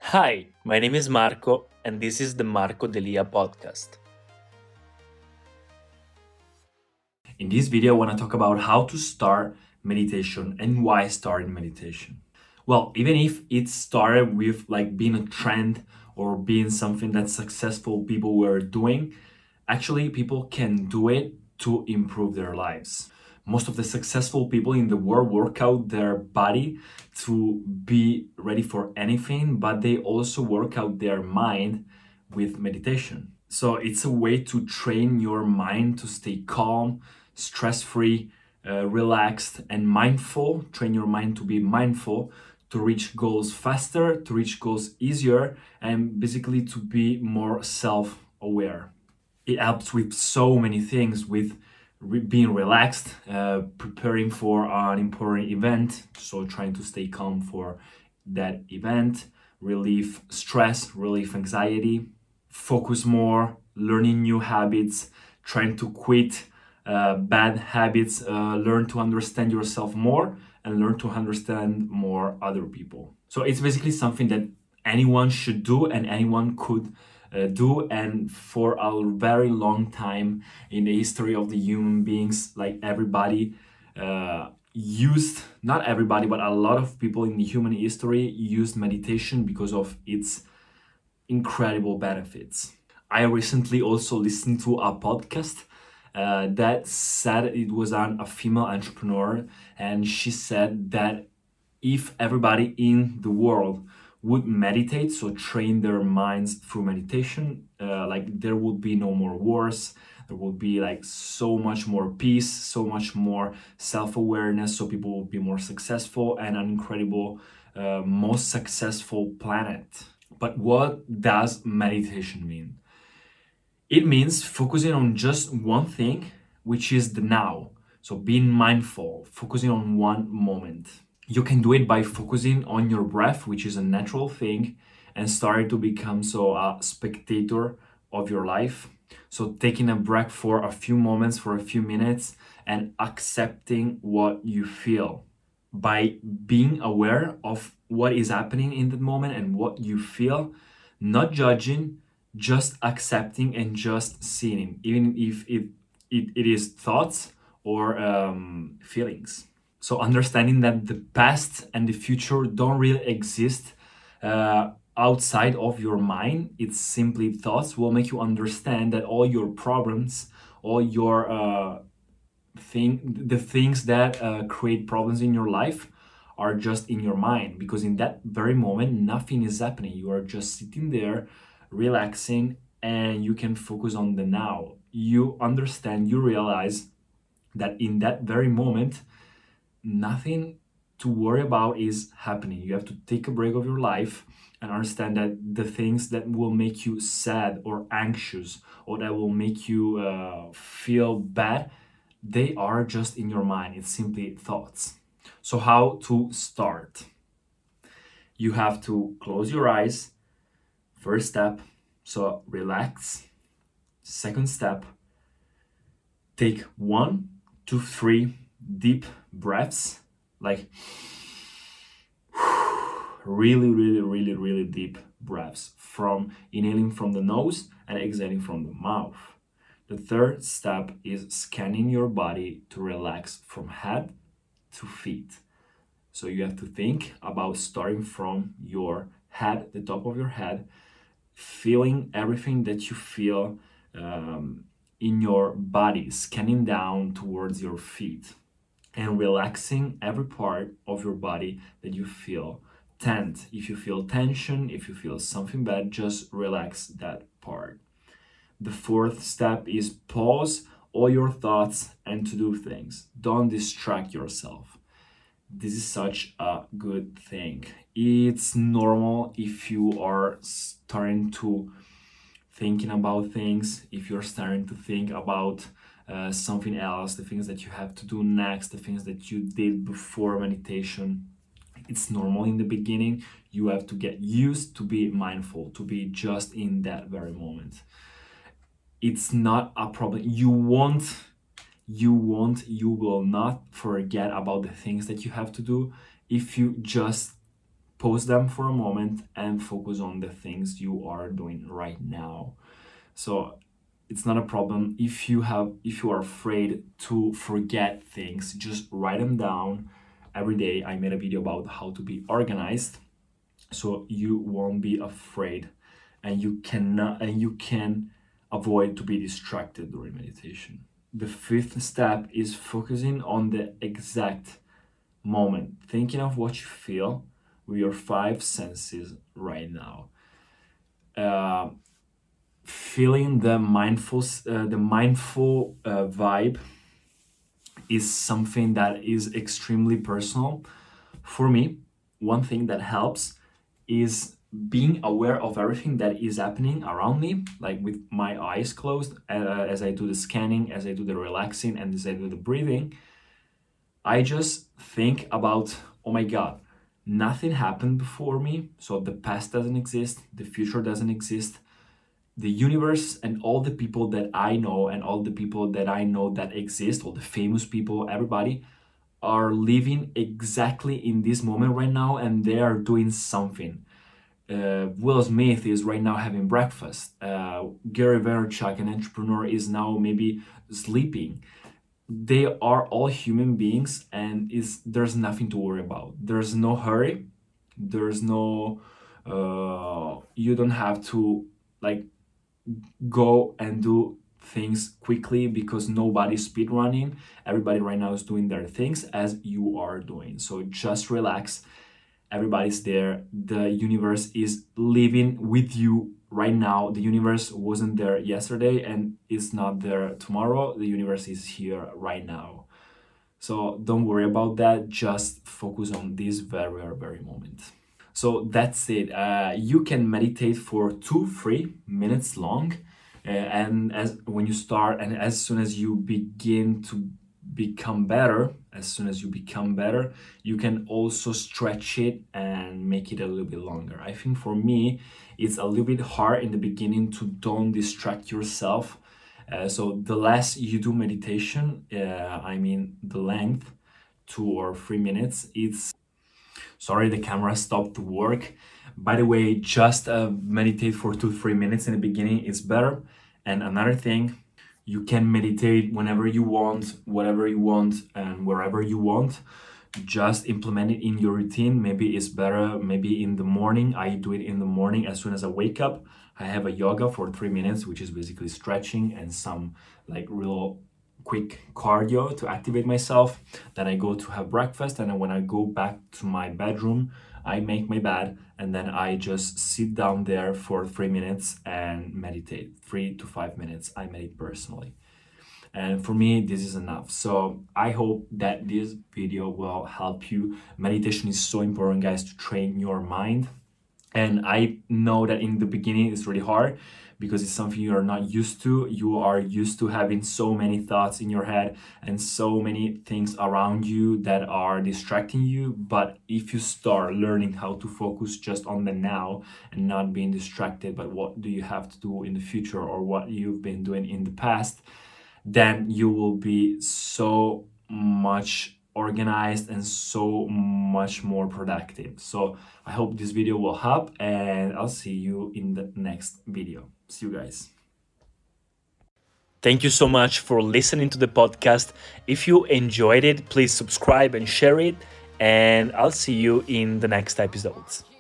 Hi, my name is Marco, and this is the Marco Delia podcast. In this video, I want to talk about how to start meditation and why starting meditation. Well, even if it started with like being a trend or being something that successful people were doing, actually, people can do it to improve their lives. Most of the successful people in the world work out their body to be ready for anything, but they also work out their mind with meditation. So it's a way to train your mind to stay calm, stress free, relaxed, and mindful. Train your mind to be mindful, to reach goals faster, to reach goals easier, and basically to be more self aware. It helps with so many things, with being relaxed, preparing for an important event, so trying to stay calm for that event, relieve stress, relieve anxiety, focus more, learning new habits, trying to quit bad habits, learn to understand yourself more, and learn to understand more other people. So it's basically something that anyone should do and anyone could do. And for a very long time in the history of the human beings, like everybody used, not everybody, but a lot of people in the human history used meditation because of its incredible benefits. I recently also listened to a podcast that said it was a female entrepreneur, and she said that if everybody in the world would meditate, so train their minds through meditation, like there would be no more wars, there would be like so much more peace, so much more self-awareness, so people would be more successful and an incredible, most successful planet. But what does meditation mean? It means focusing on just one thing, which is the now. So being mindful, focusing on one moment. You can do it by focusing on your breath, which is a natural thing, and starting to become so a spectator of your life. So taking a break for a few moments, for a few minutes, and accepting what you feel. By being aware of what is happening in the moment and what you feel, not judging, just accepting and just seeing, even if it is thoughts or feelings. So understanding that the past and the future don't really exist outside of your mind, it's simply thoughts, will make you understand that all your problems, all your the things that create problems in your life are just in your mind, because in that very moment nothing is happening. You are just sitting there relaxing, and you can focus on the now. You understand, you realize that in that very moment nothing to worry about is happening. You have to take a break of your life and understand that the things that will make you sad or anxious or that will make you feel bad, they are just in your mind. It's simply thoughts. So how to start? You have to close your eyes. First step, so relax. Second step, take 1 to 3 deep breaths, like really deep breaths, from inhaling from the nose and exhaling from the mouth. The third step is scanning your body to relax from head to feet. So you have to think about starting from your head, the top of your head, feeling everything that you feel in your body, scanning down towards your feet and relaxing every part of your body that you feel tense. If you feel tension, if you feel something bad, just relax that part. The fourth step is pause all your thoughts and to do things. Don't distract yourself. This is such a good thing. It's normal if you are starting to thinking about things, if you're starting to think about something else, the things that you have to do next, the things that you did before meditation. It's normal in the beginning. You have to get used to be mindful, to be just in that very moment. It's not a problem. You will not forget about the things that you have to do if you just pause them for a moment and focus on the things you are doing right now. So it's not a problem if you are afraid to forget things, just write them down every day. I made a video about how to be organized, so you won't be afraid, and you can avoid to be distracted during meditation. The fifth step is focusing on the exact moment, thinking of what you feel with your five senses right now. Feeling the mindful vibe is something that is extremely personal. For me, one thing that helps is being aware of everything that is happening around me, like with my eyes closed, as I do the scanning, as I do the relaxing, and as I do the breathing. I just think about, oh my God, nothing happened before me, so the past doesn't exist, the future doesn't exist. The universe and all the people that I know and all the people that I know that exist, all the famous people, everybody are living exactly in this moment right now, and they are doing something. Will Smith is right now having breakfast. Gary Vaynerchuk, an entrepreneur, is now maybe sleeping. They are all human beings, and there's nothing to worry about. There's no hurry. There's no you don't have to like go and do things quickly because nobody's speed running. Everybody right now is doing their things as you are doing. So just relax. Everybody's there. The universe is living with you right now. The universe wasn't there yesterday and is not there tomorrow. The universe is here right now. So don't worry about that. Just focus on this very, very moment. So that's it. You can meditate for 2-3 minutes long, and as when you start, and as soon as you begin to become better, you can also stretch it and make it a little bit longer. I think for me, it's a little bit hard in the beginning to don't distract yourself. So the less you do meditation, the length, 2 or 3 minutes, Sorry, the camera stopped work. By the way, just meditate for 2-3 minutes in the beginning is better. And another thing, you can meditate whenever you want, whatever you want, and wherever you want. Just implement it in your routine. Maybe it's better, maybe in the morning. I do it in the morning as soon as I wake up. I have a yoga for 3 minutes, which is basically stretching and some like real quick cardio to activate myself. Then I go to have breakfast, and then when I go back to my bedroom, I make my bed, and then I just sit down there for 3 minutes and meditate. 3 to 5 minutes I meditate personally, and for me this is enough. So I hope that this video will help you. Meditation is so important, guys, to train your mind. And I know that in the beginning it's really hard because it's something you are not used to. You are used to having so many thoughts in your head and so many things around you that are distracting you. But if you start learning how to focus just on the now and not being distracted by what do you have to do in the future or what you've been doing in the past, then you will be so much organized and so much more productive. So I hope this video will help, and I'll see you in the next video. See you guys. Thank you so much for listening to the podcast. If you enjoyed it, please subscribe and share it, and I'll see you in the next episodes.